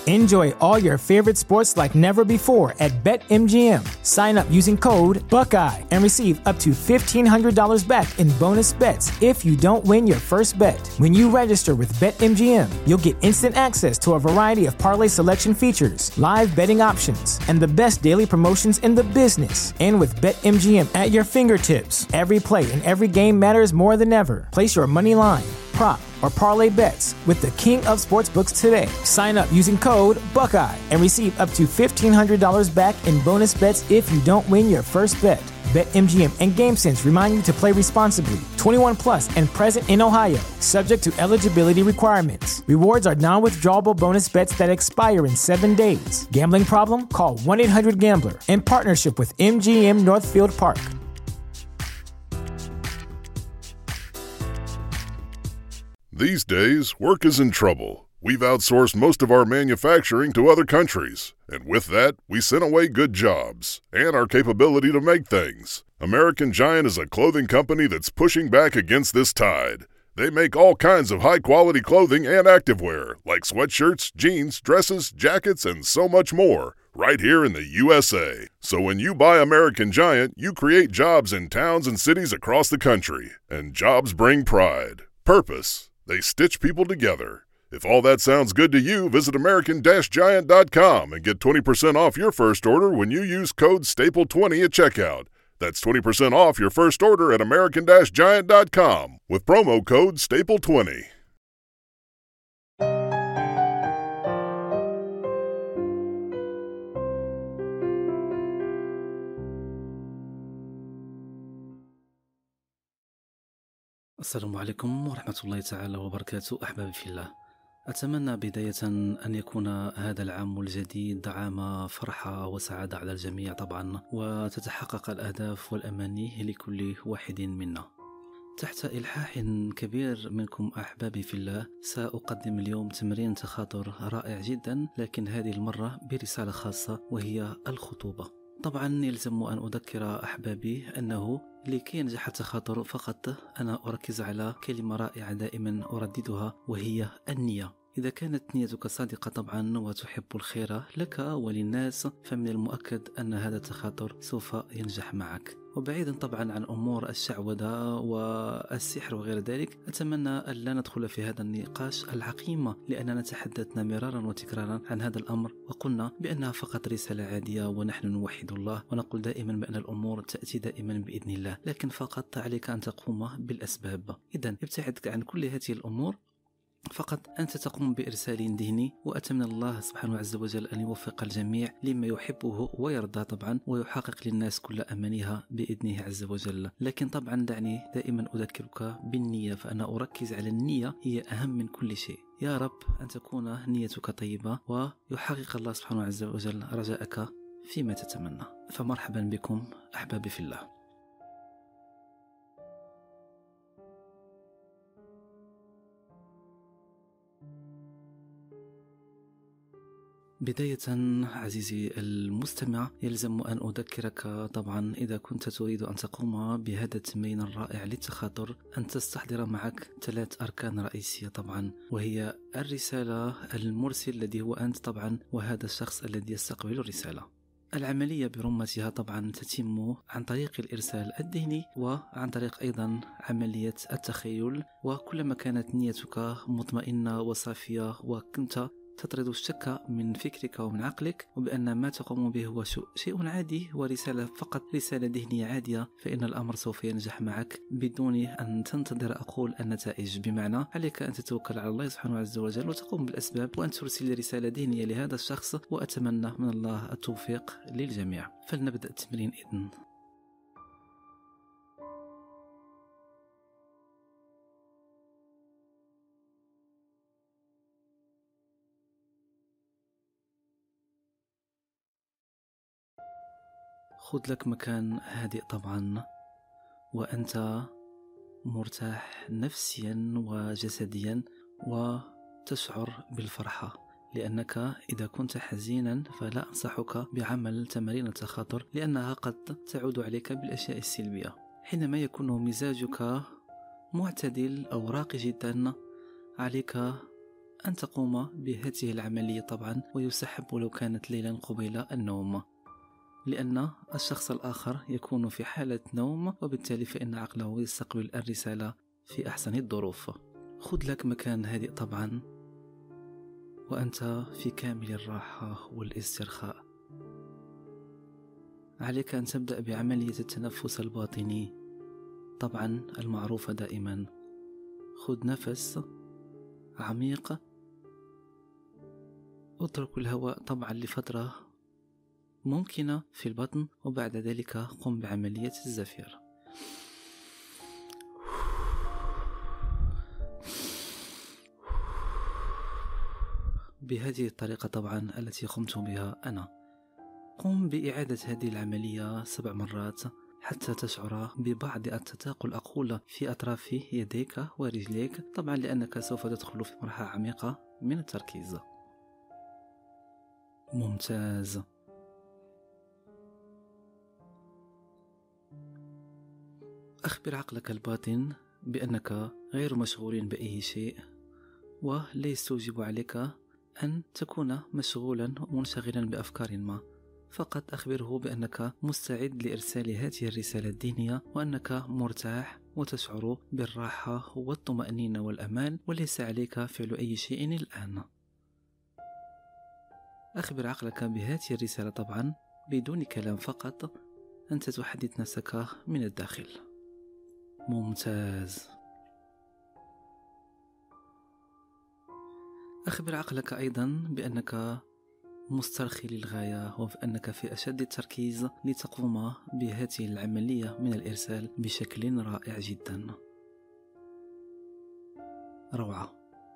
Enjoy all your favorite sports like never before at BetMGM. Sign up using code Buckeye and receive up to $1,500 back in bonus bets if you don't win your first bet. When you register with BetMGM, you'll get instant access to a variety of parlay selection features, live betting options, and the best daily promotions in the business. And with BetMGM at your fingertips, every play and every game matters more than ever. Place your money line, prop, or parlay bets with the king of sportsbooks today. Sign up using code Buckeye and receive up to $1,500 back in bonus bets if you don't win your first bet. BetMGM and GameSense remind you to play responsibly. 21 plus and present in Ohio, subject to eligibility requirements. Rewards are non-withdrawable bonus bets that expire in 7 days. Gambling problem? Call 1-800-GAMBLER in partnership with MGM Northfield Park. These days, work is in trouble. We've outsourced most of our manufacturing to other countries, and with that, we sent away good jobs and our capability to make things. American Giant is a clothing company that's pushing back against this tide. They make all kinds of high-quality clothing and activewear, like sweatshirts, jeans, dresses, jackets, and so much more, right here in the USA. So when you buy American Giant, you create jobs in towns and cities across the country, and jobs bring pride, purpose. They stitch people together. If all that sounds good to you, visit American-Giant.com and get 20% off your first order when you use code STAPLE20 at checkout. That's 20% off your first order at American-Giant.com with promo code STAPLE20. السلام عليكم ورحمة الله تعالى وبركاته. أحبابي في الله، أتمنى بداية أن يكون هذا العام الجديد عام فرحة وسعادة على الجميع طبعا، وتتحقق الأهداف والأماني لكل واحد منا. تحت إلحاح كبير منكم أحبابي في الله، سأقدم اليوم تمرين تخاطر رائع جدا، لكن هذه المرة برسالة خاصة وهي الخطوبة. طبعا يلزم أن أذكر أحبابي أنه لكي ينجح التخاطر فقط أنا أركز على كلمة رائعة دائما أرددها، وهي النية. إذا كانت نيتك صادقة طبعا وتحب الخير لك وللناس، فمن المؤكد أن هذا التخاطر سوف ينجح معك. وبعيدا طبعا عن أمور الشعوذة والسحر وغير ذلك، أتمنى أن لا ندخل في هذا النقاش العقيم، لأننا تحدثنا مرارا وتكرارا عن هذا الأمر وقلنا بأنها فقط رسالة عادية، ونحن نوحد الله ونقول دائما بأن الأمور تأتي دائما بإذن الله، لكن فقط عليك أن تقوم بالأسباب. إذن ابتعد عن كل هذه الأمور، فقط أنت تقوم بإرسال ذهني، وأتمنى الله سبحانه عز وجل أن يوفق الجميع لما يحبه ويرضى طبعا، ويحقق للناس كل أمانيها بإذنه عز وجل. لكن طبعا دعني دائما أذكرك بالنية، فأنا أركز على النية، هي أهم من كل شيء. يا رب أن تكون نيتك طيبة ويحقق الله سبحانه عز وجل رجاءك فيما تتمنى. فمرحبا بكم أحبابي في الله. بداية عزيزي المستمع، يلزم أن أذكرك طبعا إذا كنت تريد أن تقوم بهذا التمرين الرائع للتخاطر، أن تستحضر معك 3 أركان رئيسية طبعا، وهي الرسالة، المرسل الذي هو أنت طبعا، وهذا الشخص الذي يستقبل الرسالة. العملية برمتها طبعا تتم عن طريق الإرسال الذهني وعن طريق أيضا عملية التخيل، وكلما كانت نيتك مطمئنة وصافية وكنت تطرد الشك من فكرك ومن عقلك، وبأن ما تقوم به هو شيء عادي ورسالة فقط، رسالة ذهنية عادية، فإن الأمر سوف ينجح معك بدون أن تنتظر أقول النتائج. بمعنى عليك أن تتوكل على الله سبحانه عز وجل وتقوم بالأسباب، وأن ترسل رسالة ذهنية لهذا الشخص، وأتمنى من الله التوفيق للجميع. فلنبدأ التمرين إذن. خذ لك مكان هادئ طبعا، وأنت مرتاح نفسيا وجسديا، وتشعر بالفرحة، لأنك إذا كنت حزينا فلا أنصحك بعمل تمارين التخاطر، لأنها قد تعود عليك بالأشياء السلبية. حينما يكون مزاجك معتدل أو راقي جدا، عليك أن تقوم بهذه العملية طبعا، ويسحب لو كانت ليلا قبيل النوم، لأن الشخص الآخر يكون في حالة نوم، وبالتالي فإن عقله يستقبل الرسالة في أحسن الظروف. خذ لك مكان هادئ طبعا، وأنت في كامل الراحة والاسترخاء. عليك أن تبدأ بعملية التنفس الباطني طبعا المعروفة دائما. خذ نفس عميق، اترك الهواء طبعا لفترة ممكنة في البطن، وبعد ذلك قم بعملية الزفير. بهذه الطريقة طبعا التي قمت بها أنا. قم بإعادة هذه العملية 7 مرات حتى تشعر ببعض التثاقل أقول في أطراف يديك ورجليك، طبعا لأنك سوف تدخل في مرحلة عميقة من التركيز. ممتاز. أخبر عقلك الباطن بأنك غير مشغول بأي شيء، ولا يستوجب عليك أن تكون مشغولا ومنشغلا بأفكار ما، فقط أخبره بأنك مستعد لإرسال هذه الرسالة الدينية، وأنك مرتاح وتشعر بالراحة والطمأنينة والأمان، وليس عليك فعل أي شيء الآن. أخبر عقلك بهذه الرسالة طبعا بدون كلام، فقط أنت تحدث نفسك من الداخل. ممتاز. أخبر عقلك أيضا بأنك مسترخي للغاية، وأنك في أشد التركيز لتقوم بهذه العملية من الإرسال بشكل رائع جدا. روعة.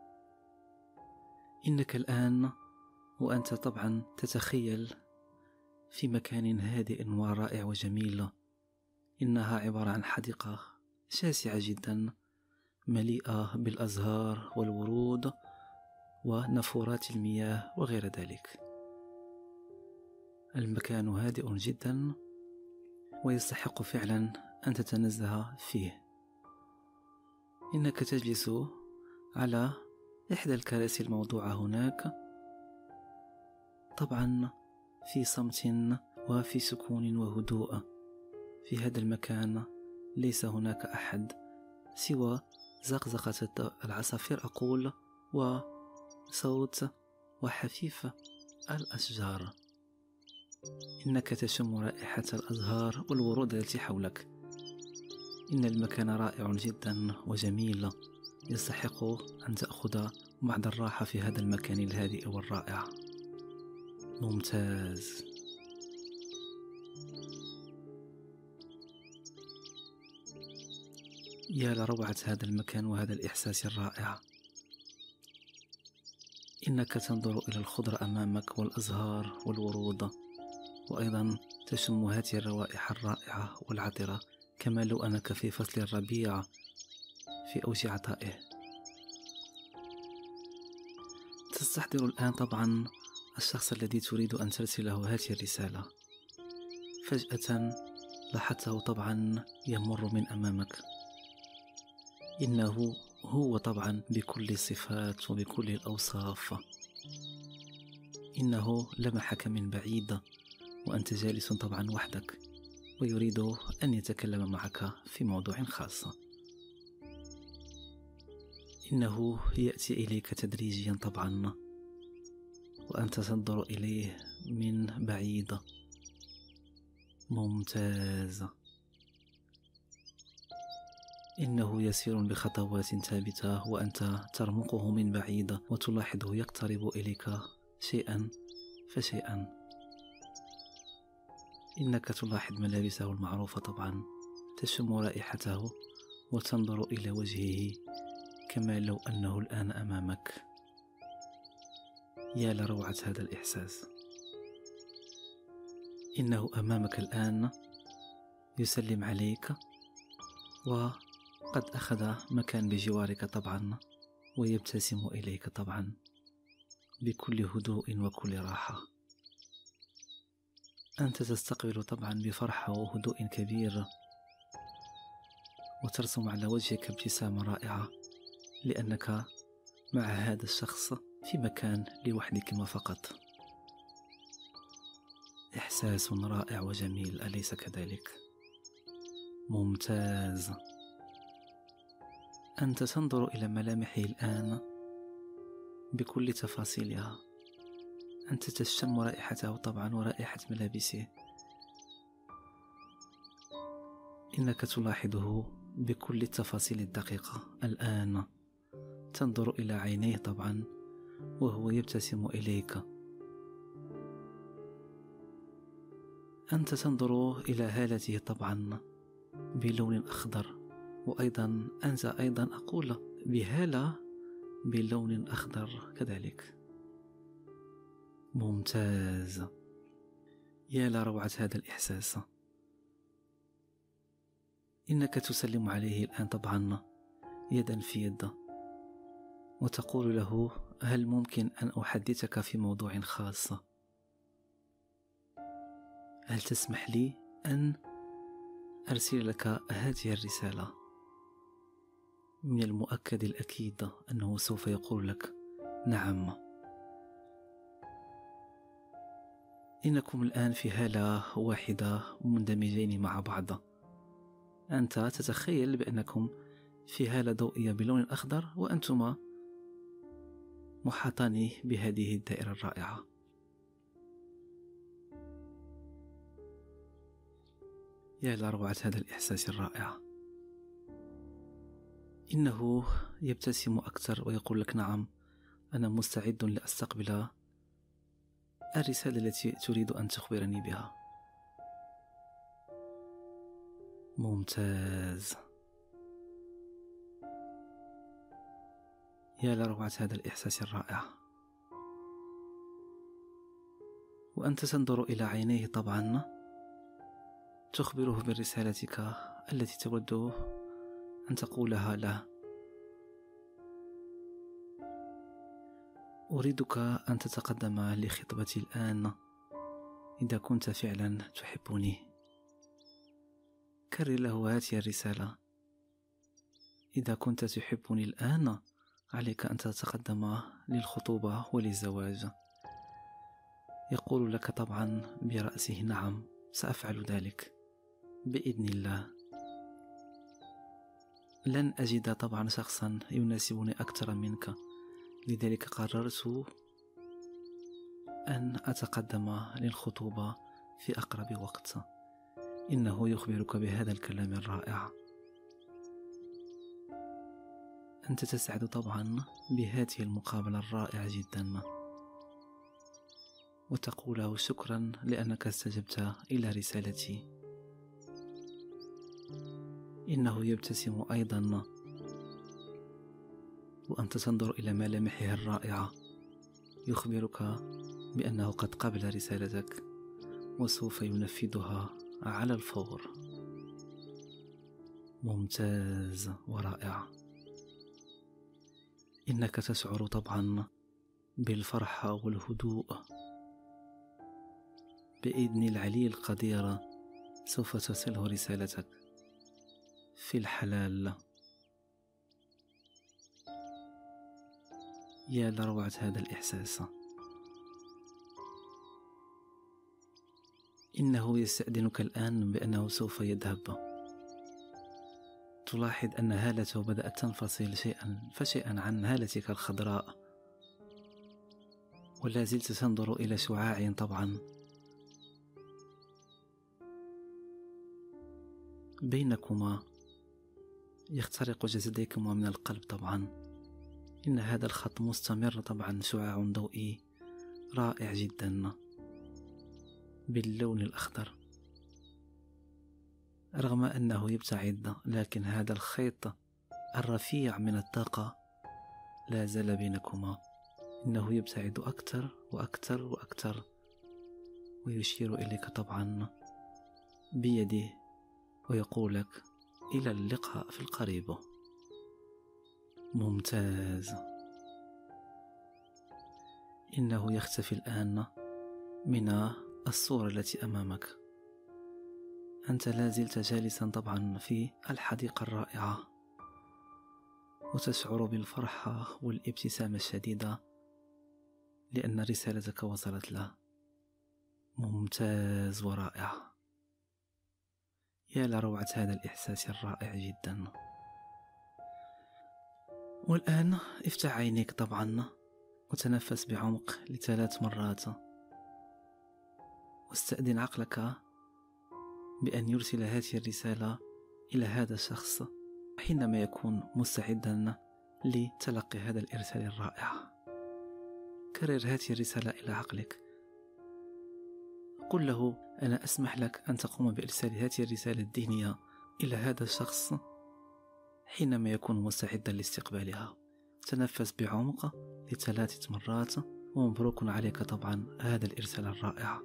إنك الآن وأنت طبعا تتخيل في مكان هادئ ورائع وجميل. إنها عبارة عن حديقة شاسعة جدا مليئة بالأزهار والورود ونافورات المياه وغير ذلك. المكان هادئ جدا ويستحق فعلا أن تتنزه فيه. إنك تجلس على إحدى الكراسي الموضوعة هناك، طبعا في صمت وفي سكون وهدوء. في هذا المكان ليس هناك أحد سوى زقزقة العصافير أقول، وصوت وحفيف الأشجار. إنك تشم رائحة الأزهار والورود التي حولك. إن المكان رائع جدا وجميل، يستحق أن تأخذ بعض الراحة في هذا المكان الهادئ والرائع. ممتاز. يا لروعة هذا المكان وهذا الإحساس الرائع. إنك تنظر إلى الخضرة أمامك والأزهار والورود، وأيضا تشم هذه الروائح الرائعة والعطرة كما لو أنك في فصل الربيع في أوج عطائه. تستحضر الآن طبعا الشخص الذي تريد أن ترسله هذه الرسالة. فجأة لاحظته طبعا يمر من أمامك. إنه هو طبعا بكل الصفات وبكل الأوصاف. إنه لمحك من بعيد وأنت جالس طبعا وحدك، ويريد أن يتكلم معك في موضوع خاص. إنه يأتي إليك تدريجيا طبعا، وأنت تنظر إليه من بعيد. ممتاز. إنه يسير بخطوات ثابتة وأنت ترمقه من بعيد، وتلاحظه يقترب إليك شيئا فشيئا. إنك تلاحظ ملابسه المعروفة طبعا، تشم رائحته وتنظر إلى وجهه كما لو أنه الآن أمامك. يا لروعة هذا الإحساس. إنه أمامك الآن يسلم عليك، وقد أخذ مكان بجوارك طبعا، ويبتسم إليك طبعا بكل هدوء وكل راحة. أنت تستقبل طبعا بفرحة وهدوء كبير، وترسم على وجهك ابتسامة رائعة، لأنك مع هذا الشخص في مكان لوحدكما فقط. إحساس رائع وجميل، أليس كذلك؟ ممتاز. أنت تنظر إلى ملامحه الآن بكل تفاصيلها، أنت تشم رائحته طبعا ورائحة ملابسه، إنك تلاحظه بكل التفاصيل الدقيقة. الآن تنظر إلى عينيه طبعا وهو يبتسم إليك، أنت تنظر إلى هالته طبعا بلون أخضر، وأيضا أنت أيضا أقول بهالة بلون أخضر كذلك. ممتاز. يا لروعة هذا الإحساس. إنك تسلم عليه الآن طبعا يدا في يد، وتقول له: هل ممكن أن أحدثك في موضوع خاص؟ هل تسمح لي أن أرسل لك هذه الرسالة؟ من المؤكد الأكيد أنه سوف يقول لك: نعم. إنكم الآن في هالة واحدة مندمجين مع بعض. أنت تتخيل بأنكم في هالة ضوئية بلون أخضر، وأنتما محاطان بهذه الدائرة الرائعة. يا لروعة هذا الإحساس الرائع. إنه يبتسم أكثر ويقول لك: نعم، أنا مستعد لأستقبل الرسالة التي تريد أن تخبرني بها. ممتاز. يا لروعة هذا الإحساس الرائع. وأنت تنظر إلى عينيه طبعا، تخبره برسالتك التي تود أن تقولها له. أريدك أن تتقدم لخطبتي الآن إذا كنت فعلا تحبني. كرر له هذه الرسالة: إذا كنت تحبني الآن عليك أن تتقدم للخطوبة وللزواج. يقول لك طبعا برأسه: نعم، سأفعل ذلك بإذن الله. لن أجد طبعا شخصا يناسبني أكثر منك، لذلك قررت أن أتقدم للخطوبة في أقرب وقت. إنه يخبرك بهذا الكلام الرائع. أنت تسعد طبعا بهذه المقابلة الرائعة جدا، وتقول له: شكرا لأنك استجبت إلى رسالتي. إنه يبتسم أيضا، وأنت تنظر إلى ملامحه الرائعة. يخبرك بأنه قد قبل رسالتك وسوف ينفذها على الفور. ممتاز ورائع. إنك تشعر طبعا بالفرحة والهدوء. بإذن العلي القدير سوف تصله رسالتك في الحلال. يا لروعة هذا الإحساس. إنه يستأذنك الآن بأنه سوف يذهب. تلاحظ أن هالته بدأت تنفصل شيئا فشيئا عن هالتك الخضراء، ولا زلت تنظر إلى شعاع طبعا بينكما يخترق جسديكما من القلب طبعا. إن هذا الخط مستمر طبعا، شعاع ضوئي رائع جدا باللون الأخضر. رغم أنه يبتعد، لكن هذا الخيط الرفيع من الطاقة لا زال بينكما. إنه يبتعد أكثر وأكثر وأكثر، ويشير إليك طبعا بيده ويقول لك: إلى اللقاء في القريب. ممتاز. إنه يختفي الآن من الصورة التي أمامك. أنت لا زلت جالسا طبعا في الحديقة الرائعة. وتشعر بالفرحة والابتسامة الشديدة لأن رسالتك وصلت له. ممتاز ورائع. يا لروعة هذا الإحساس الرائع جدا. والآن افتح عينيك طبعا وتنفس بعمق ل3 مرات، واستأذن عقلك بأن يرسل هذه الرسالة إلى هذا الشخص حينما يكون مستعدا لتلقي هذا الإرسال الرائع. كرر هذه الرسالة إلى عقلك، قل له أنا أسمح لك أن تقوم بإرسال هذه الرسالة الذهنية إلى هذا الشخص حينما يكون مستعدا لاستقبالها. تنفس بعمق ل3 مرات، ومبروك عليك طبعا هذا الإرسال الرائع.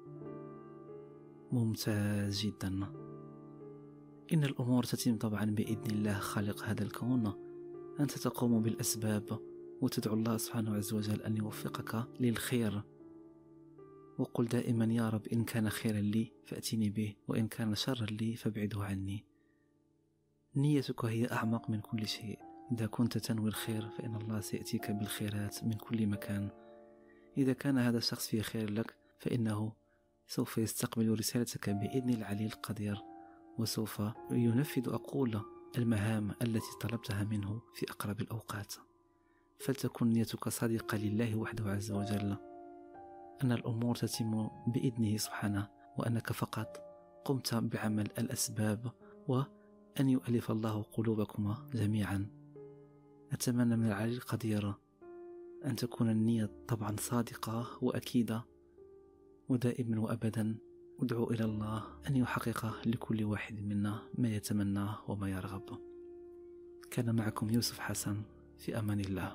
ممتاز جدا. إن الأمور تتم طبعا بإذن الله خالق هذا الكون. أنت تقوم بالأسباب وتدعو الله سبحانه عز وجل أن يوفقك للخير، وقل دائما يا رب إن كان خيرا لي فأتني به، وإن كان شرا لي فابعده عني. نيتك هي أعمق من كل شيء. إذا كنت تنوي الخير فإن الله سيأتيك بالخيرات من كل مكان. إذا كان هذا الشخص فيه خير لك فإنه سوف يستقبل رسالتك بإذن العلي القدير، وسوف ينفذ أقول المهام التي طلبتها منه في أقرب الأوقات. فلتكن نيتك صادقة لله وحده عز وجل، أن الأمور تتم بإذنه سبحانه، وأنك فقط قمت بعمل الأسباب، وأن يؤلف الله قلوبكما جميعا. أتمنى من العلي القدير أن تكون النية طبعا صادقة وأكيدة، ودائما وأبدا أدعو إلى الله أن يحقق لكل واحد منا ما يتمناه وما يرغب. كان معكم يوسف حسن، في أمان الله.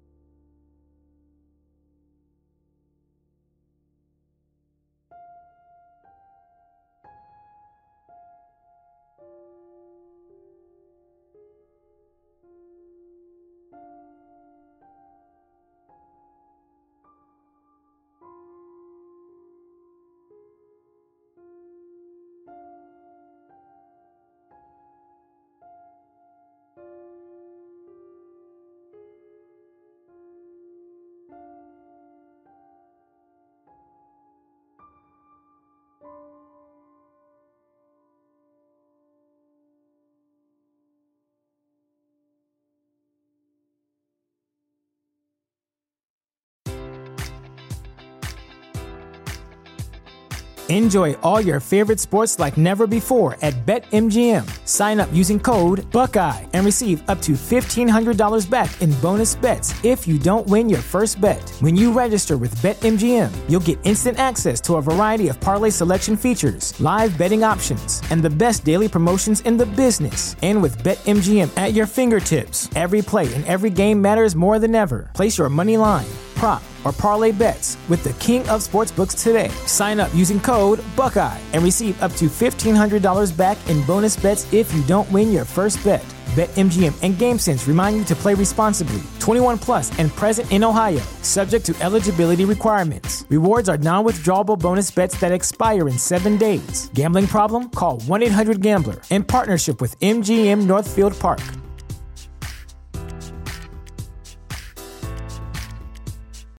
Enjoy all your favorite sports like never before at BetMGM. Sign up using code Buckeye and receive up to $1,500 back in bonus bets if you don't win your first bet. When you register with BetMGM, you'll get instant access to a variety of parlay selection features, live betting options, and the best daily promotions in the business. And with BetMGM at your fingertips, every play and every game matters more than ever. Place your money line, prop, or parlay bets with the king of sportsbooks today. Sign up using code Buckeye and receive up to $1,500 back in bonus bets if you don't win your first bet. BetMGM and GameSense remind you to play responsibly. 21 plus and present in Ohio, subject to eligibility requirements. Rewards are non-withdrawable bonus bets that expire in 7 days. Gambling problem? Call 1-800-GAMBLER in partnership with MGM Northfield Park.